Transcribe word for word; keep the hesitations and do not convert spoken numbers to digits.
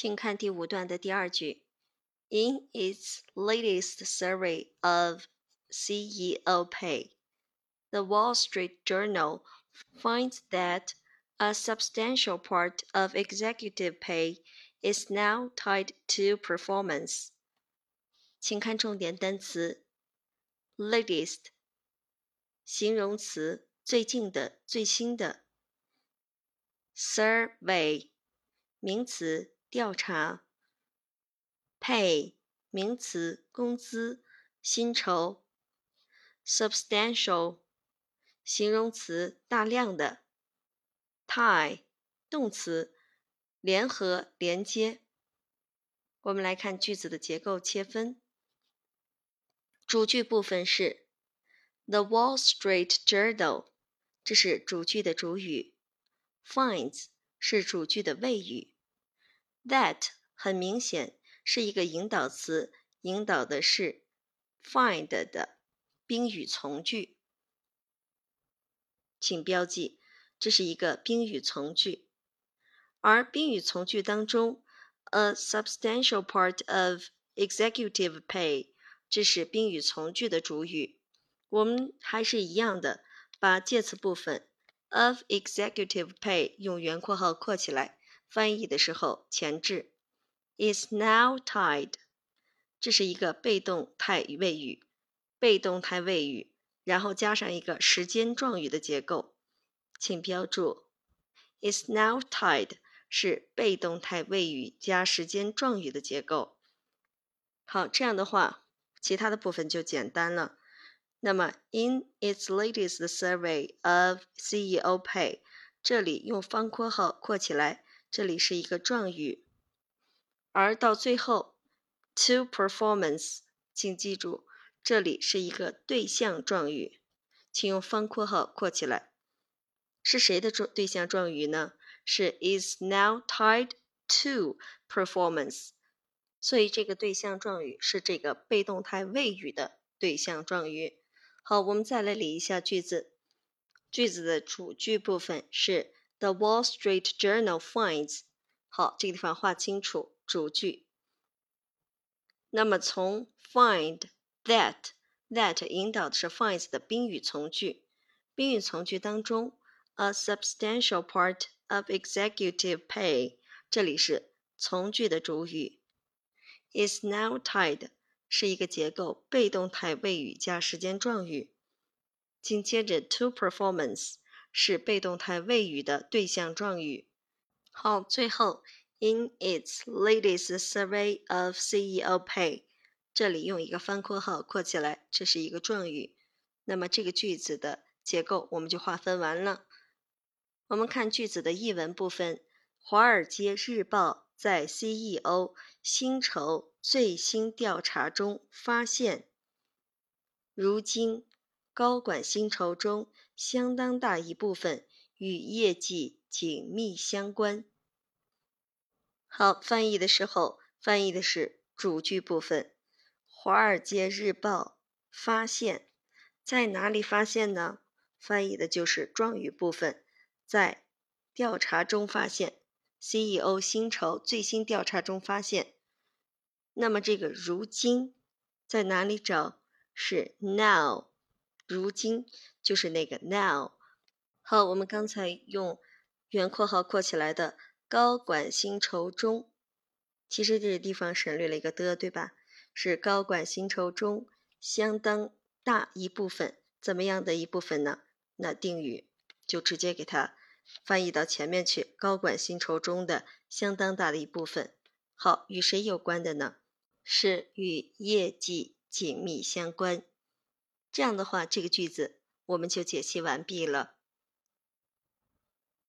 请看第五段的第二句。In its latest survey of C E O pay, the Wall Street Journal finds that a substantial part of executive pay is now tied to performance. 请看重点单词 latest 形容词最近的最新的 survey 名词调查 pay 名词工资薪酬 substantial 形容词大量的 tie 动词联合连接。我们来看句子的结构切分。主句部分是 The Wall Street Journal， 这是主句的主语， finds 是主句的谓语， That 很明显是一个引导词，引导的是 find 的宾语从句，请标记这是一个宾语从句。而宾语从句当中 a substantial part of executive pay 这是宾语从句的主语，我们还是一样的把介词部分 of executive pay 用圆括号括起来，翻译的时候前置 is now tied， 这是一个被动态谓语，被动态谓语然后加上一个时间状语的结构，请标注 is now tied 是被动态谓语加时间状语的结构。好，这样的话其他的部分就简单了。那么 in its latest survey of C E O pay 这里用方括号括起来，这里是一个状语，而到最后 to performance 请记住这里是一个对象状语，请用方括号括起来。是谁的对象状语呢？是 is now tied to performance， 所以这个对象状语是这个被动态谓语的对象状语。好，我们再来理一下句子。句子的主句部分是 The Wall Street Journal finds， 好，这个地方画清楚主句。那么从 find that that 引导的是 finds 的宾语从句，宾语从句当中 a substantial part of executive pay 这里是从句的主语， is now tied 是一个结构被动态谓语加时间状语，紧接着 to performance 是被动态谓语的对象状语。好，最后 in its latest survey of C E O pay 这里用一个方括号括起来，这是一个状语。那么这个句子的结构我们就划分完了。我们看句子的译文部分，华尔街日报在 C E O 薪酬最新调查中发现，如今高管薪酬中相当大一部分与业绩紧密相关。好，翻译的时候翻译的是主句部分，华尔街日报发现，在哪里发现呢？翻译的就是状语部分，在调查中发现， C E O 薪酬最新调查中发现。那么这个如今在哪里找？是 now， 如今就是那个 now。 好，我们刚才用圆括号括起来的高管薪酬中，其实这个地方省略了一个的，对吧？是高管薪酬中相当大一部分，怎么样的一部分呢？那定语就直接给它翻译到前面去，高管薪酬中的相当大的一部分。好，与谁有关的呢？是与业绩紧密相关。这样的话，这个句子我们就解析完毕了。